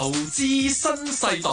投資新世代。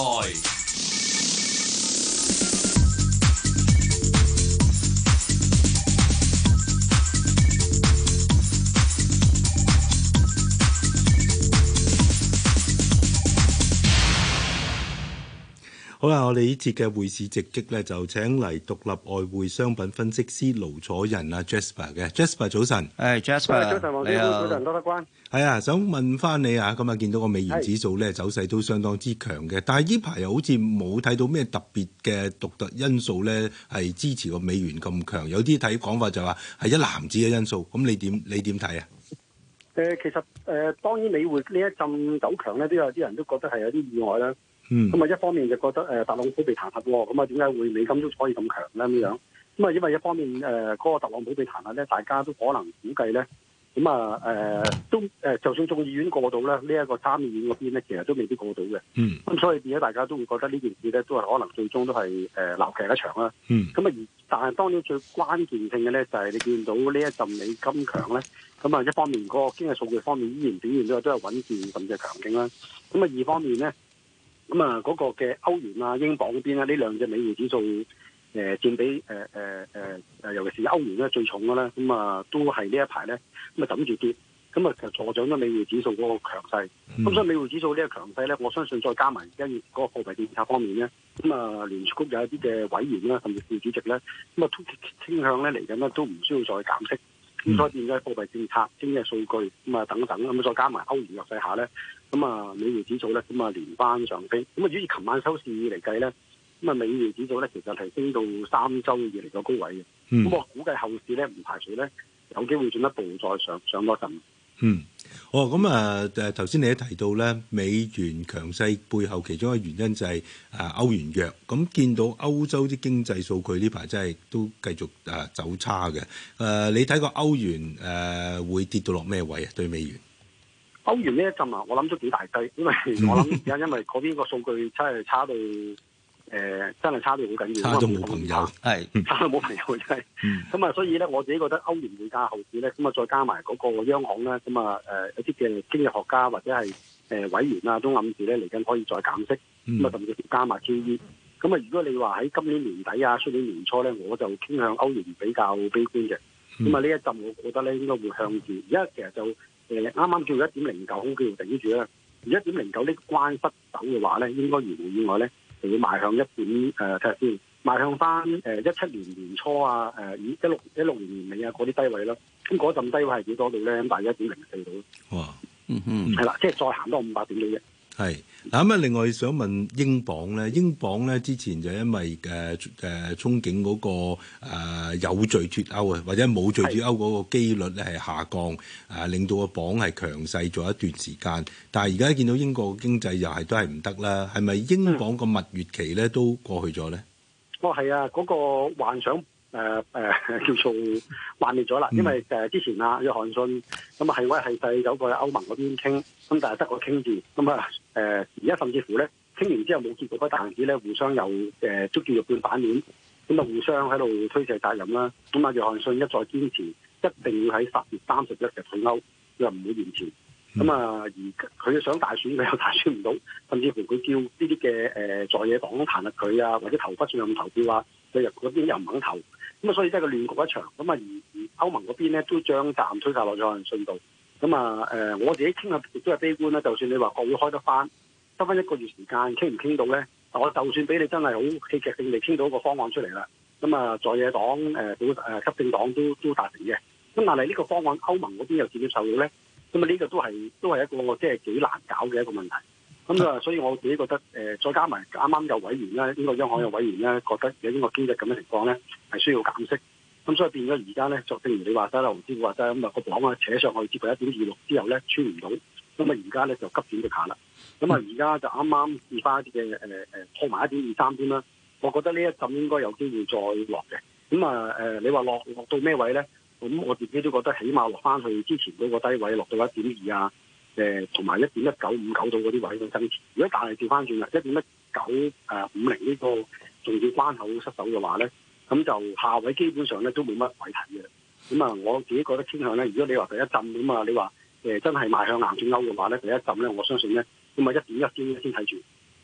好啦，我哋呢節嘅匯市直擊咧，就請嚟獨立外匯商品分析師盧楚仁啊 Jasper 嘅 Jasper 早晨。 Jasper 早晨黃師傅，早晨多得關。 係啊，想問翻你啊，咁啊見到個美元指數咧走勢都相當之強嘅，但係呢排又好似冇睇到咩特別嘅獨特因素咧，係支持個美元咁強。有啲睇講法就話係一籃子嘅因素，咁你點睇啊？ 其實當然美匯呢一陣走強咧，都有啲人都覺得係有啲意外啦。 咁啊，一方面就覺得特朗普被彈劾喎，咁啊點解會美金都可以咁強咧咁樣？咁啊，因為一方面嗰個特朗普被彈劾咧，大家都可能估計咧，咁啊都就算眾議院過到咧，呢一個參議院嗰邊咧，其實都未必過到嘅。咁所以變咗大家都會覺得呢件事咧，都係可能最終都係鬧劇一場啦。咁啊但係當然最關鍵性嘅咧，就係你見到呢一陣美金強咧，咁啊一方面嗰個經濟數據方面依然表現都係穩健甚至係強勁啦。咁啊二方面咧。咁啊，嗰個嘅歐元啊、英鎊嗰邊咧，呢兩隻美匯指數佔比尤其是歐元咧最重嘅咧，咁啊都係呢一排咧咁啊枕住跌，咁啊就助長咗美匯指數嗰個強勢。咁所以美匯指數呢個強勢咧，我相信再加埋而家嗰個貨幣政策方面咧，咁啊聯儲局有一啲嘅委員啦，甚至副主席咧，咁啊傾向咧嚟緊咧都唔需要再減息。咁所以變咗貨幣政策、經濟數據咁啊等等，咁再加埋歐元弱勢下咧，咁啊美匯指數咧咁啊連番上升。咁啊，如果以琴晚收市嚟計咧，咁啊美匯指數咧其實係升到3週以嚟個高位嘅。咁我估計後市咧唔排除咧有機會進一步再上多陣。 咁啊頭先你都提到咧，美元強勢背後其中一個原因就係歐元弱。咁見到歐洲啲經濟數據呢排真係都繼續走差嘅。你睇個歐元會跌到落咩位啊？對美元？ 歐元呢一陣啊，我諗都幾大雞，因為我諗而家因為嗰邊個數據真係差到真係差到好緊要， 差到冇朋友， 差到冇朋友真係。咁啊，所以咧我自己覺得歐元匯價後市咧，咁啊再加埋嗰個央行咧，咁啊一啲嘅經濟學家或者係委員啊，都暗示咧嚟緊可以再減息，咁啊甚至加埋 QE。咁啊，如果你話喺今年年底啊、出年年初咧，我就傾向歐元比較悲觀嘅。咁啊呢一陣我覺得咧應該會向住，而家其實就啱啱叫1.09叫做頂住啦。而1.09呢個關失守嘅話咧，應該如無意外咧，就會邁向睇下先，邁向翻17年年初啊，以16年年尾啊嗰啲低位啦。咁嗰陣低位係幾多度咧？咁大約1.04度。 哇， 係啦，即係再行多500點嘅啫。 係嗱咁啊！另外想問英鎊咧，英鎊咧之前就因為憧憬嗰個有序脱歐啊，或者冇序脱歐嗰個機率咧係下降，令到個鎊係強勢咗一段時間。但係而家見到英國經濟又都係唔得啦，係咪英鎊個蜜月期咧都過去咗咧？ 係啊，嗰個幻想叫做幻滅咗啦，因為之前啊約翰遜咁啊係威係勢走過去歐盟嗰邊傾，咁但係得個傾字，咁啊而家甚至乎咧傾完之後冇結果，但係咧互相又捉住肉半反面，咁啊互相喺度推卸責任啦。咁啊約翰遜一再堅持一定要喺10月31日退歐，佢又唔會延遲。咁啊而佢想大選佢又大選唔到，甚至乎佢叫呢啲嘅在野黨彈劾佢啊，或者投不信任投票啊，佢入嗰邊又唔肯投。咁啊，所以真係個亂局一場。咁啊，而歐盟嗰邊咧都將責任推晒落咗約翰遜度。咁啊，我自己傾下亦都係悲觀啦。就算你話國會開得翻1個月時間，傾唔傾到咧？我就算俾你真係好戲劇性地傾到個方案出嚟啦。咁啊，在野黨執政黨都達成嘅。咁但係呢個方案歐盟嗰邊又接唔接受到咧？咁啊，呢個都係一個即係幾難搞嘅一個問題。咁啊，所以我自己覺得再加埋啱啱有委員咧，英國央行有委員咧，覺得有英國經濟咁嘅情況咧，係需要減息。咁所以變咗而家咧，就正如你話齋啦，黃師傅話齋咁啊，個鎊啊扯上去接近1.26之後咧，穿唔到，咁啊而家咧就急轉直下啦。咁啊而家就啱啱試翻一啲嘅破埋1.23添啦。我覺得呢一陣應該有機會再落嘅。咁啊你話落到咩位咧？咁我自己都覺得起碼落翻去之前嗰個低位，落到1.2啊。同埋1.1959到嗰啲位去增持。如果但係調翻轉啦，1.1950呢個重要關口失守嘅話咧，咁就下位基本上咧都冇乜位睇嘅。咁啊，我自己覺得傾向咧，如果你話第一陣咁啊，你話真係邁向硬脱歐嘅話咧，第一陣咧，我相信咧，咁啊1.1先睇住。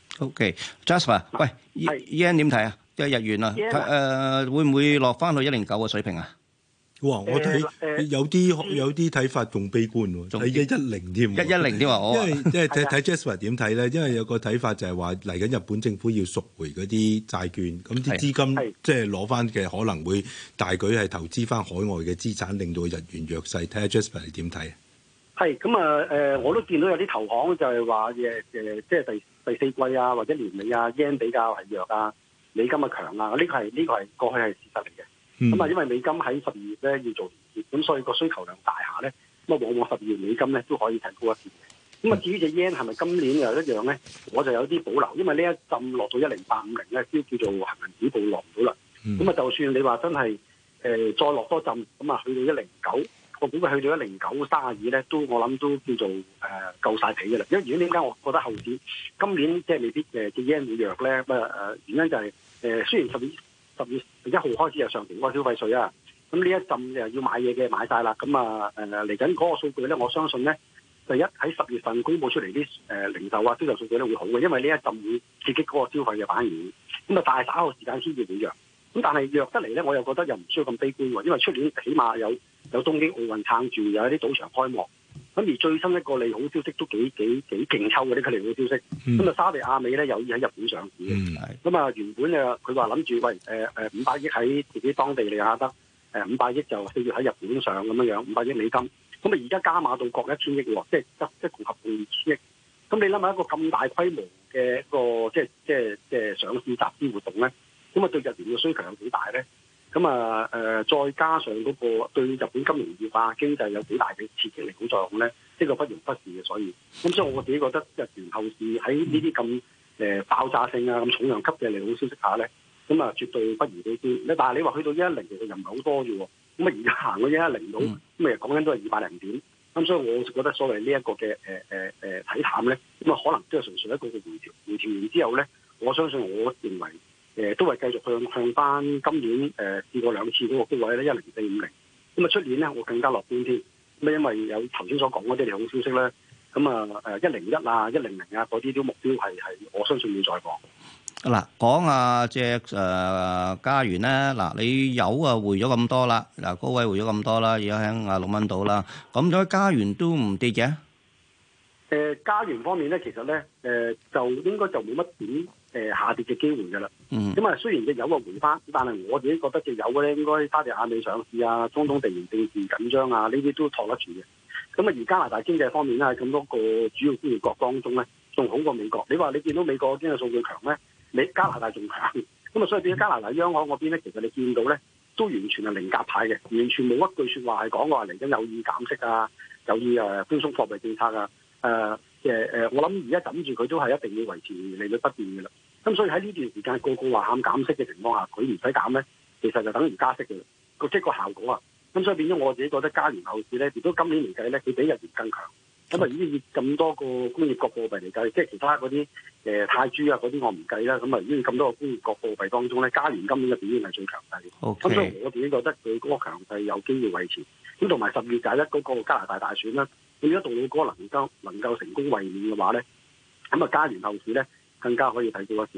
OK，Jasper，喂，yen 點睇啊？即係日元啊，會唔會落翻去109嘅水平啊？ 哇！我睇有啲睇法仲悲觀喎，睇110添 ，110添啊！ 因為睇 Jasper 點睇咧？因為有個睇法就係話嚟緊日本政府要贖回嗰啲債券，咁啲資金即係攞翻嘅可能會大舉係投資翻海外嘅資產，令到日元弱勢。睇下 Jasper 你點睇？ 係咁啊！我都見到有啲投行就係話即係第四季啊，或者年尾啊 yen 比較係弱啊，美金啊強啊，呢個係過去係事實嚟嘅。咁啊，因為美金喺12月咧要做連結，咁所以個需求量大下咧，咁啊往往12月美金咧都可以提高一啲嘅。咁啊，至於隻 yen 係咪今年又一樣咧，我就有啲保留，因為呢一陣落到10850咧，都叫做恆指報落唔到啦。咁啊，就算你話真係再落多陣，咁啊去到109，我估計去到10932咧，都我諗都叫做夠晒皮嘅啦。因為原因點解我覺得後市今年即係未必隻 yen 會弱咧？原因就係雖然10月1號開始有上調嗰個消費稅啊，咁呢一陣又要買嘢嘅買晒啦，咁啊嚟緊嗰個數據咧，我相信咧，第一喺10月份公佈出嚟啲零售啊銷售數據咧會好嘅，因為呢一陣會刺激嗰個消費嘅反應，咁啊大稍後時間先至會弱，咁但係弱得嚟咧，我又覺得又唔需要咁悲觀喎，因為出年起碼有東京奧運撐住，有一啲賭場開幕。咁而最新一個利好消息都幾勁抽嘅呢個利好消息，咁啊沙地亞美咧有意喺日本上市嘅，咁啊原本佢話諗住喂500億喺自己當地利雅得，500億就4月喺日本上咁樣500億美金，咁啊而家加碼到各1000億喎，即係共合共2000億，咁你諗下一個咁大規模嘅一個即係上市集資活動咧，咁啊對日元嘅需求有幾大咧？咁啊再加上嗰個對日本金融業啊經濟有幾大嘅刺激力好作用咧，呢個不容忽視嘅。所以所以我自己覺得日元後市喺呢啲咁爆炸性啊咁重量級嘅利好消息下咧，咁啊絕對不如呢啲。但係你話去到110其實又唔係好多啫喎，咁啊而家行到110到，咁啊講緊都係200零點。咁所以我就覺得所謂呢一個嘅睇淡咧，咁啊可能都係純粹一個嘅回調完之後咧，我相信我認為。都係繼續向翻今年試過2次嗰個高位咧10450，咁啊出年咧我更加樂觀添，咁因為有頭先所講嗰啲利好消息咧，咁啊101啊100啊嗰啲都目標係我相信要再講。 嗱，講下隻加元咧，嗱你油啊回咗咁多啦，嗱高位回咗咁多啦，而家喺6蚊度啦，咁咗加元都唔跌嘅。 加元方面咧，其實咧就應該就冇乜點下跌嘅機會㗎啦。咁啊，雖然隻油啊回翻，但係我自己覺得隻油咧應該沙地亞美上市啊、中東地緣政治緊張啊，呢啲都托得住嘅。咁啊，而加拿大經濟方面咧，喺咁多個主要工業國當中咧，仲好過美國。你話你見到美國經濟數據強咧，加拿大仲強。咁啊，所以變咗加拿大央行嗰邊咧，其實你見到咧都完全係零鴿派嘅，完全冇一句説話係講話嚟緊有意減息啊，有意寬鬆貨幣政策啊。我諗而家枕住佢都係一定要維持利率不變嘅啦。咁所以喺呢段時間個個話喊減息嘅情況下，佢唔使減咧，其實就等於加息嘅啦。即係個效果啊。咁所以變咗我自己覺得加元後市咧，如果今年嚟計咧，佢比日元更強。咁啊，以咁多個工業國貨幣嚟計，即係其他嗰啲泰銖啊嗰啲我唔計啦。咁啊，以咁多個工業國貨幣當中咧，加元今年嘅表現係最強勢。咁所以我自己覺得佢嗰個強勢有機會維持。咁同埋10月11嗰個加拿大大選啦。如果杜魯多能夠成功衛冕嘅話咧，咁啊加元後市咧更加可以睇到一線。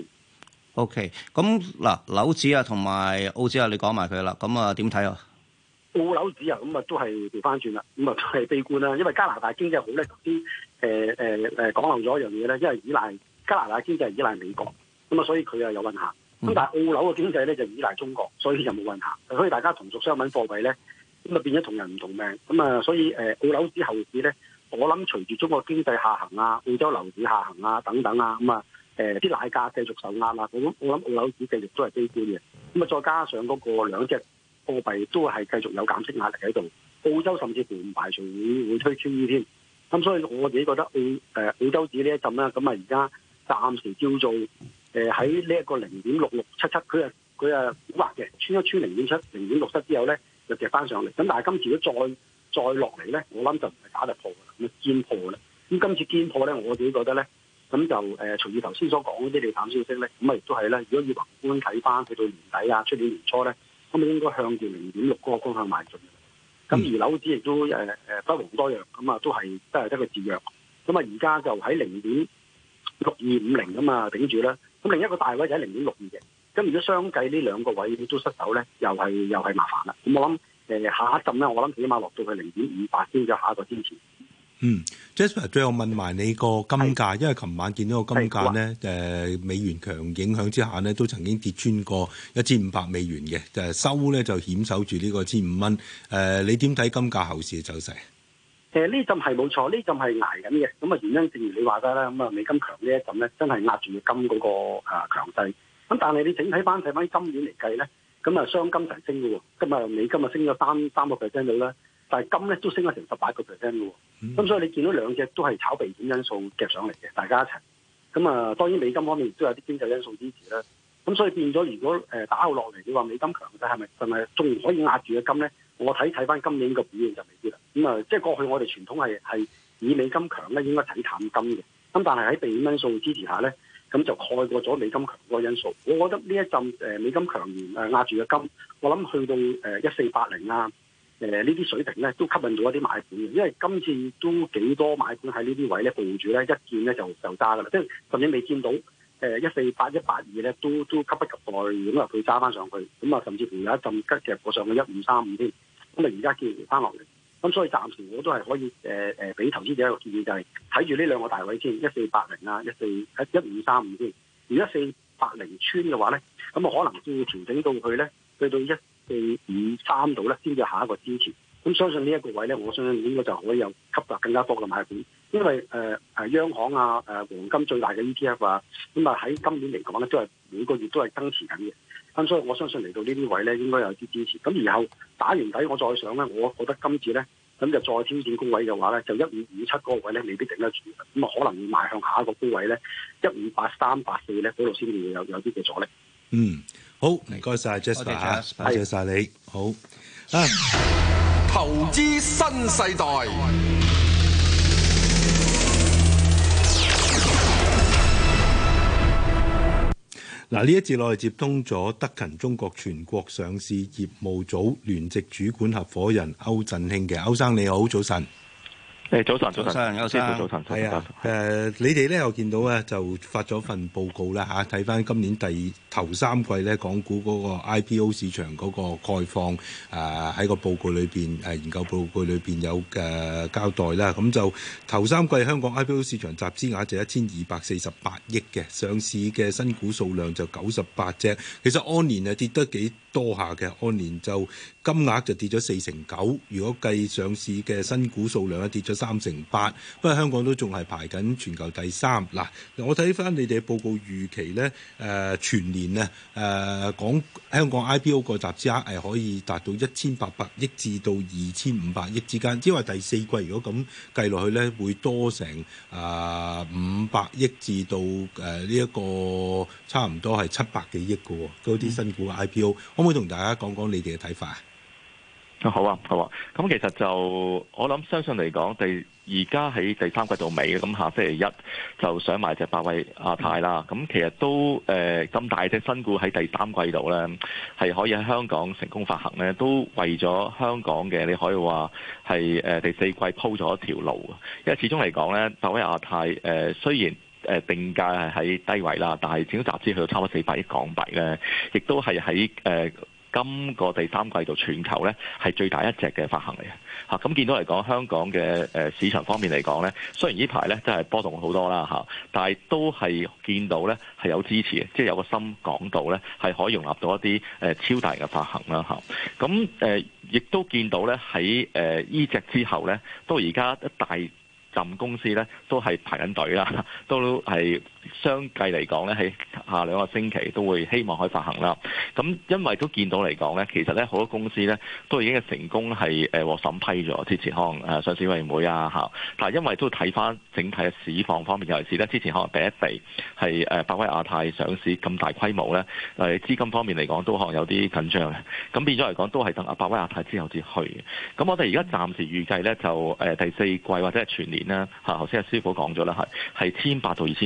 OK，咁嗱，紐指啊同埋澳指啊，你講埋佢啦。咁啊點睇啊？ 澳紐指啊，咁啊都係調翻轉啦，咁啊都係悲觀啦。因為加拿大經濟好咧，頭先講漏咗一樣嘢咧，因為加拿大經濟係依賴美國，咁啊所以佢啊有運行。咁但係澳紐嘅經濟咧就依賴中國，所以就冇運行。所以大家同屬商品貨幣咧。咁啊變咗同人唔同命，咁啊所以澳紐指後市咧，我諗隨住中國經濟下行啊、澳洲樓市下行啊等等啊，咁啊啲奶價繼續受壓啊，我諗澳紐指繼續都係悲觀嘅。咁啊再加上嗰個兩隻貨幣都係繼續有減息壓力喺度，澳洲甚至乎唔排除會推 QE 添。咁所以我自己覺得澳洲指呢一陣啦，咁啊而家暫時叫做喺呢一個0.6677，佢啊估劃嘅，穿0.7、0.67之後咧。就跌翻上嚟，咁但係今次如果再落嚟咧，我諗就唔係打突破㗎啦，咁堅破啦。咁今次堅破咧，我自己覺得咧，咁就隨住頭先所講嗰啲利淡消息咧，咁啊亦都係咧，如果要宏觀睇翻去到年底啊、出年年初咧，咁啊應該向住0.6嗰個方向邁進。 咁而樓指亦都不遑多讓，咁啊都係得個自弱。咁啊而家就喺0.6250咁啊頂住啦。咁另一個大位就喺0.62嘅。咁如果相繼呢兩個位都失手咧，又係麻煩啦。咁我諗下一陣咧，我諗起碼落到去0.58先至下一個支持。 Jasper 最後問埋你個金價，因為琴晚見到個金價咧，美元強影響之下呢，都曾經跌穿過1500美元嘅，收咧就險守住呢個1,500蚊。你點睇金價後市嘅走勢？ 呢陣係冇錯，呢陣係捱緊嘅。咁啊原因正如你話齋啦，咁啊美金強呢一陣咧，真係壓住金嗰個強勢。咁但係你整體睇翻今年嚟計咧，咁啊雙金齊升嘅喎，今日美金啊升咗3%到啦。但係金咧都升咗成18%嘅喎，咁所以你見到兩隻都係炒避險因素夾上嚟嘅，大家一齊。咁啊，當然美金方面亦都有啲經濟因素支持啦。咁所以變咗，如果打後落嚟，你話美金強勢係咪仲可以壓住嘅金咧？我睇翻今年個表現就未必啦。咁啊，即係過去我哋傳統係以美金強咧，應該睇淡金嘅。咁但係喺避險因素支持下咧，咁就蓋過咗美金強嗰個因素。我覺得呢一陣美金強完壓住嘅金，我諗去到1480啊。呢啲水平咧都吸引到一啲買盤嘅，因為今次都幾多買盤喺呢啲位咧佈住咧，一見咧就揸㗎啦，即係甚至未見到148、182咧都急不及待咁入去揸翻上去，咁啊甚至乎有一陣急夾過上去1535添，咁啊而家叫回翻落嚟，咁所以暫時我都係可以俾投資者一個建議，就係睇住呢兩個大位先，1480啊，1535先，如果1480穿嘅話咧，咁啊可能都要調整到去咧，去到1453度咧，先至下一個支持。咁相信呢一個位咧，我相信應該就可以有吸納更加多嘅買盤，因為央行啊、黃金最大嘅 ETF 啊，咁啊喺今年嚟講咧，都係每個月都係增持緊嘅。咁所以我相信嚟到呢啲位咧，應該有啲支持。咁然後打完底，我再上咧，我覺得今次咧，咁就再挑戰高位嘅話咧，就1557嗰個位咧，未必頂得住。咁啊，可能會邁向下一個高位咧，158、384咧，嗰度先至會有啲嘅阻力。 好，唔該晒 Jasper 嚇，多謝晒你。好投資新世代。 嗱，呢一節我哋接通咗德勤中國全國上市業務組聯席主管合夥人歐振興嘅，歐生你好，早晨。 早晨， 歐生， 早晨， 係啊，你哋咧，我見到咧就發咗份報告啦嚇，睇翻今年頭3季咧，港股嗰個 IPO 市場嗰個概況，喺個報告裏邊研究報告裏邊有交代啦。咁就頭3季香港 IPO 市場集資額就1248億嘅，上市嘅新股數量就98隻，其實按年跌得幾多下嘅，按年就金額就跌咗49%，如果計上市嘅新股數量跌咗38%，不過香港都仲係排緊全球第3。嗱，我睇翻你哋嘅報告預期咧，全年咧講香港 IPO 個集資額係可以達到1800億至到2500億之間，即係話第4季如果咁計落去咧，會多成500億至到呢一個差唔多係700幾億嘅嗰啲新股 IPO，可唔可以同大家講講你哋嘅睇法啊？ 好啊。咁其實就我諗，相信嚟講，而家喺第3季度尾，咁下星期一就上埋隻百威亞太啦。咁其實都咁大隻新股喺第3季度咧，係可以喺香港成功發行咧，都為咗香港嘅，你可以話係第4季鋪咗一條路。因為始終嚟講咧，百威亞太雖然定價係喺低位啦，但係整個集資去到差唔多400億港幣咧，亦都係喺今個第3季度全球咧係最大一隻嘅發行嚟嘅嚇。咁見到嚟講，香港嘅市場方面嚟講咧，雖然呢排咧真係波動好多啦嚇，但係都係見到咧係有支持嘅，即係有個深港度咧係可以容納到一啲超大嘅發行啦嚇。咁亦都見到咧喺呢隻之後咧，到而家一大浸公司咧都係排緊隊啦，都係相繼嚟講咧喺下2個星期都會希望可以發行啦。咁因為都見到嚟講咧，其實咧好多公司咧都已經係成功係獲審批咗，之前可能上市委員會啊嚇，但係因為都睇翻整體嘅市況方面，尤其是咧之前可能第一地係百威亞太上市咁大規模咧，資金方面嚟講都可能有啲緊張嘅，咁變咗嚟講都係等百威亞太之後至去嘅。咁我哋而家暫時預計咧就第4季或者係全年咧嚇，頭先阿師傅講咗啦，係1800到2500億嘅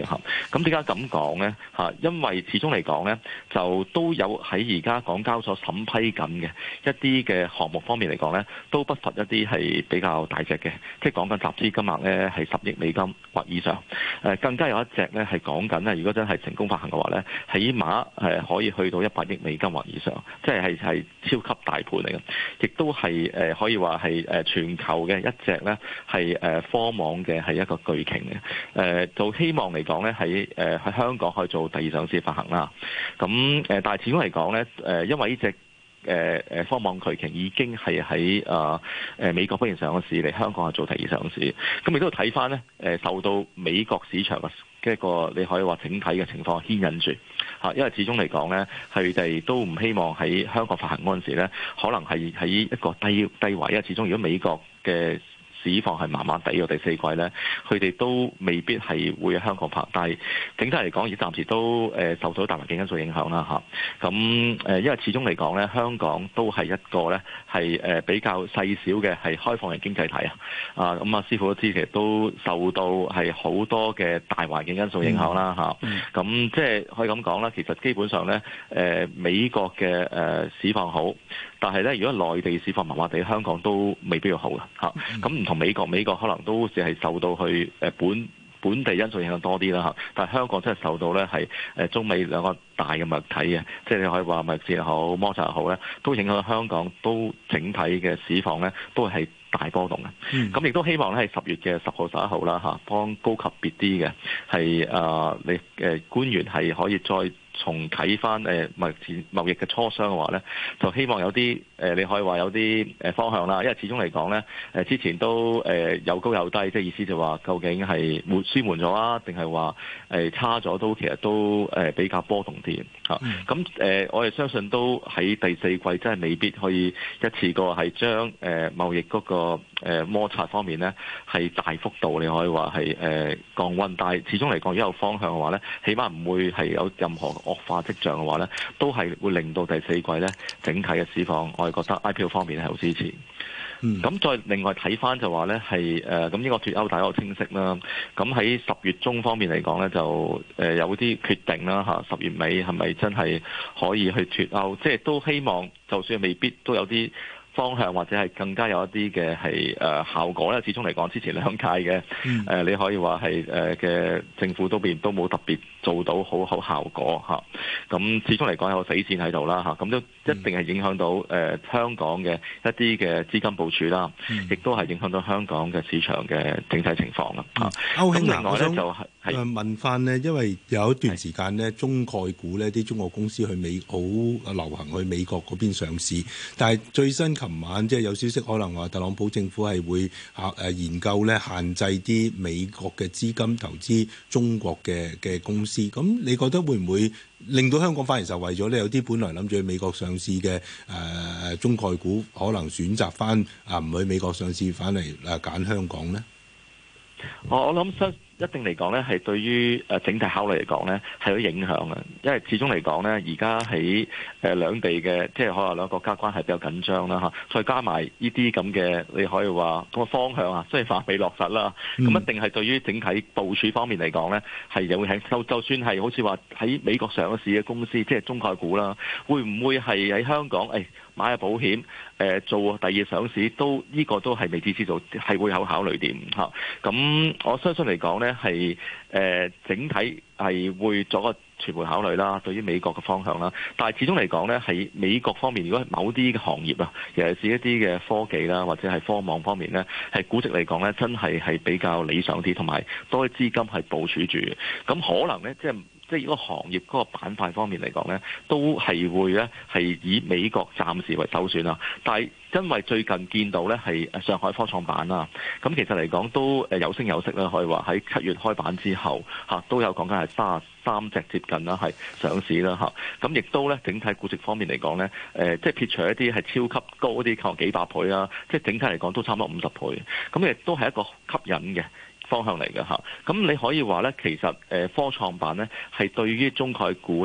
嚇。咁點解咁講呢？嚇，因為始終嚟講呢，就都有喺而家港交所審批緊嘅一啲嘅項目方面嚟講呢，都不乏一啲係比較大隻嘅，即係講緊集資金額呢係10億美金或以上。更加有一隻呢係講緊呢，如果真係成功發行嘅話呢，起碼可以去到100億美金或以上，即係超級大盤嚟嘅，亦都係可以話係全球嘅一隻呢係科網嘅係一個巨擎嘅。就希望嚟講呢，喺香港可以做第二上市發行啦。咁但係始終嚟講呢，因為呢隻科網巨擎已經係喺美國嗰邊上市，嚟香港係做第二上市。咁亦都睇翻呢，受到美國市場嘅一個你可以話整體嘅情況牽引住嚇，因為始終嚟講呢，佢哋都唔希望喺香港發行嗰陣時呢，可能係喺一個低位，因為始終如果美國嘅市況係麻麻地嘅第四季呢，佢哋都未必係會喺香港拍，但係整體嚟講，而暫時都受到大環境因素影響啦嚇。咁因為始終嚟講呢，香港都係一個呢係比較細小嘅係開放型經濟體啊。咁師傅都知其實都受到係好多嘅大環境因素影響啦嚇。咁即係可以咁講啦，其實基本上呢，美國嘅市況好，但係呢，如果內地市況麻麻地，香港都未必要好嘅嚇。咁唔同美國可能都只係受到去本地因素影響多啲啦嚇，但係香港真係受到咧係中美兩個大嘅物體嘅，即係你可以話物市又好摩擦又好咧，都影響香港都整體嘅市況咧都係大波動嘅。咁亦都希望咧係10月嘅10號11號啦嚇，幫高級別啲嘅係你官員係可以再重啟翻貿易嘅磋商嘅話咧，就希望有啲你可以話有啲方向啦。因為始終嚟講咧，之前都有高有低，即係意思就話究竟係舒緩咗啊，定係話差咗都其實都比較波動啲嚇。咁我哋相信都喺第四季真係未必可以一次過係將貿易嗰個摩擦方面咧係大幅度你可以話係降溫，但係始終嚟講如果有方向嘅話咧，起碼唔會係有任何惡化跡象嘅話咧，都係會令到第四季咧整體嘅市況，我哋覺得 IPO 方面係好支持。咁再另外睇翻就話咧係咁呢個脱歐大家好清晰啦。咁喺10月中方面嚟講咧，就有啲決定啦嚇。10月尾係咪真係可以去脱歐？即係都希望，就算未必都有啲方向或者係更加有一啲嘅係效果咧。始終嚟講，之前兩屆嘅你可以話係嘅政府都冇特別做到好效果嚇。咁始終嚟講有個死線喺度啦嚇。咁都一定係影響到香港嘅一啲嘅資金部署啦，亦都係影響到香港嘅市場嘅整體情況啦嚇。 歐兄另外咧就係問翻呢，因為有一段時間呢，中概股呢啲中國公司去好流行去美國嗰邊上市，但係最新琴晚即係有消息，可能話特朗普政府係會研究咧限制啲美國嘅資金投資中國嘅公司。咁你覺得會唔會令到香港反而受惠咗呢？有啲本來諗住去美國上市嘅中概股，可能選擇翻唔去美國上市，反嚟揀香港呢？ 我諗一定嚟講咧，係對於整體考慮嚟講咧，係有影響嘅。因為始終嚟講咧，而家喺兩地嘅即係可能兩個國家關係比較緊張啦嚇，再加埋呢啲咁嘅你可以話個方向啊，雖然還未落實啦，咁一定係對於整體部署方面嚟講咧，係有影響。就算係好似話喺美國上市嘅公司，即係中概股啦，會唔會係喺香港買下保險做第二上市，都呢個都係未知之數，係會有考慮點嚇。咁我相信嚟講咧，係整體係會作個全盤考慮啦，對於美國嘅方向啦。但係始終嚟講咧，喺美國方面，如果係某啲嘅行業啊，尤其是一啲嘅科技啦，或者係科網方面咧，係估值嚟講咧，真係比較理想啲，同埋多啲資金係部署住嘅。咁可能咧，即係嗰個行業嗰個板塊方面嚟講咧，都係會咧係以美國暫時為首選啦。但係因為最近見到咧係上海科創板啦，咁其實嚟講都有聲有色啦，可以話喺7月開板之後都有講緊係33隻接近啦係上市啦嚇。咁亦都咧整體估值方面嚟講咧，即係撇除一啲係超級高啲，靠幾百倍啦，即係整體嚟講都差唔多50倍。咁亦都係一個吸引嘅方向嚟嘅嚇。咁你可以話咧，其實科創板咧係對於中概股咧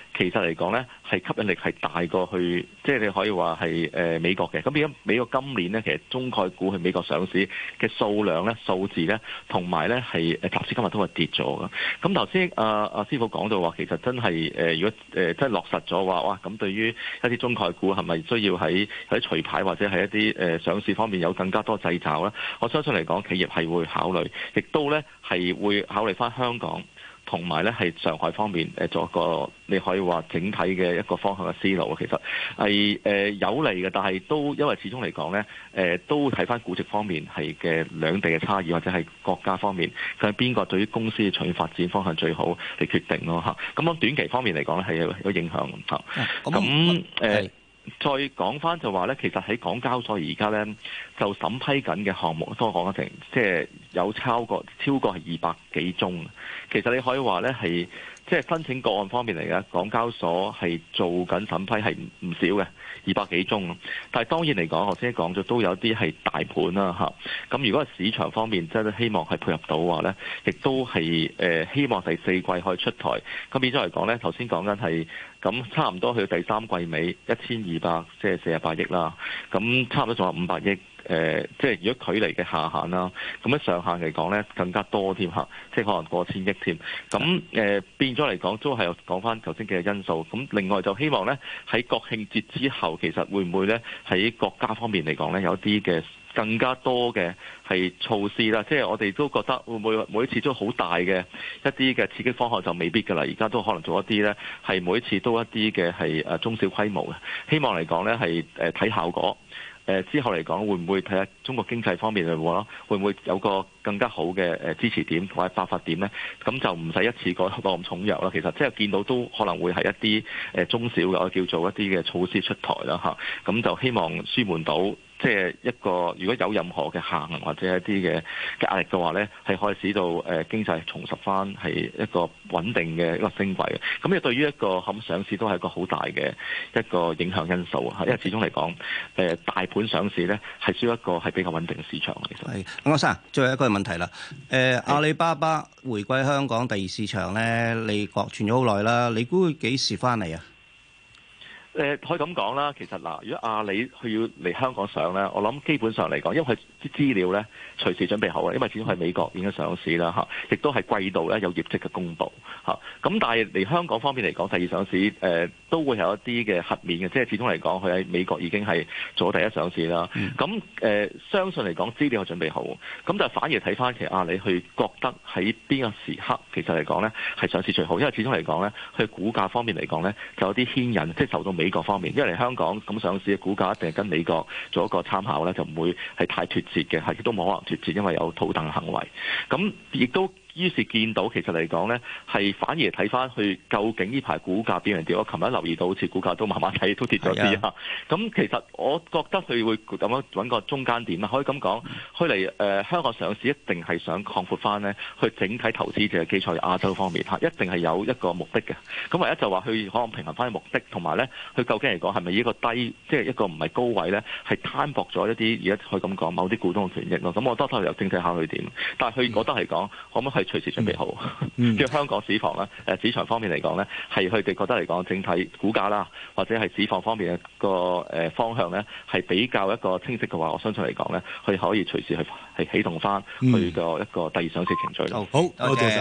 其實嚟講咧係吸引力係大過去，即係你可以話係美國嘅。咁變咗美國今年咧，其實中概股去美國上市嘅數量咧、數字咧，同埋咧係集資今日都係跌咗嘅。咁頭先阿師傅講到話，其實真係如果真係落實咗話，哇！咁對於一啲中概股係咪需要喺除牌或者係一啲上市方面有更加多掣肘咧？我相信嚟講，企業係會考慮，亦都咧係會考慮翻香港同埋咧係上海方面做一個你可以話整體嘅一個方向嘅思路。其實係有利嘅，但係都因為始終嚟講咧都睇翻估值方面係嘅兩地嘅差異，或者係國家方面佢係邊個對於公司嘅長遠發展方向最好嚟決定咯嚇。咁樣短期方面嚟講咧係有影響嚇。咁再講翻就話咧，其實喺港交所而家咧就審批緊嘅項目，都講緊成即係有超過係200幾宗。其實你可以話咧係即係申請個案方面嚟嘅，港交所係做緊審批係唔少嘅200幾宗。但係當然嚟講，頭先講咗都有啲係大盤啦嚇。咁如果係市場方面真係希望係配合到嘅話咧，亦都係希望第四季可以出台。咁變咗嚟講咧，頭先講緊係。咁差唔多去到第三季尾1200即係48億啦，咁差唔多仲有500億，即係如果距離嘅下限啦，咁喺上限嚟講咧更加多添嚇，即係可能過千億添。咁變咗嚟講都係講翻頭先嘅因素。咁另外就希望咧喺國慶節之後，其實會唔會咧喺國家方面嚟講咧有啲嘅更加多嘅係措施啦，即係我哋都覺得會唔會每一次都好大嘅一啲嘅刺激方案就未必㗎啦，而家都可能做一啲咧係每一次都一啲嘅係中小規模嘅，希望嚟講咧係睇效果。之後嚟講會唔會睇下中國經濟方面嚟喎？會唔會有個更加好嘅支持點或者爆發點呢？咁就唔使一次過咁重藥啦。其實即係見到都可能會係一啲中小嘅我叫做一啲嘅措施出台啦嚇。咁就希望舒緩到。即係一個，如果有任何嘅下行或者一啲嘅壓力嘅話咧，係可以使到經濟重拾翻係一個穩定嘅一個升軌嘅。咁亦對於一個咁上市都係一個好大嘅一個影響因素啊！因為始終嚟講，大盤上市咧係需要一個係比較穩定嘅市場。其實係， 柯生，最後一個問題啦。阿里巴巴回歸香港第二市場咧，你傳咗好耐啦，你估佢幾時翻嚟啊？ 可以咁講啦，其實嗱，如果阿里佢要嚟香港上咧，我諗基本上嚟講，因為佢啲資料咧隨時準備好嘅，因為始終係美國已經上市啦嚇，亦都係季度咧有業績嘅公佈嚇。咁但係嚟香港方面嚟講，第二上市都會有一啲嘅黑面嘅，即係始終嚟講，佢喺美國已經係做咗第一上市啦。咁相信嚟講資料係準備好，咁就反而睇翻其實阿里去覺得喺邊個時刻其實嚟講咧係上市最好，因為始終嚟講咧，佢股價方面嚟講咧就有啲牽引，即係受到美國方面，因為嚟香港咁上市嘅股價一定係跟美國做一個參考咧，就唔會係太脫節嘅，係亦都冇可能脫節，因為有套戥嘅行為。咁亦都於是見到其實嚟講咧，係反而睇翻去究竟呢排股價變成點？我琴日留意到好似股價都慢慢睇都跌咗啲啊。咁其實我覺得佢會咁樣揾個中間點啦，可以咁講，佢嚟香港上市一定係想擴闊翻咧，去整體投資者嘅基礎亞洲方面嚇，一定係有一個目的嘅。咁唯一就話佢可能平衡翻嘅目的，同埋咧佢究竟嚟講係咪一個低，即係一個唔係高位咧，係攤薄咗一啲而家可以咁講某啲股東嘅權益咯。咁我覺得都係由整體考慮點，但係佢覺得嚟講可唔可以隨時準備好？即係香港市況咧，市場方面嚟講咧，係佢哋覺得嚟講整體股價啦，或者係市況方面嘅個方向咧，係比較一個清晰嘅話，我相信嚟講咧，佢可以隨時係啟動翻佢個一個第二上市程序咯。 好，多謝。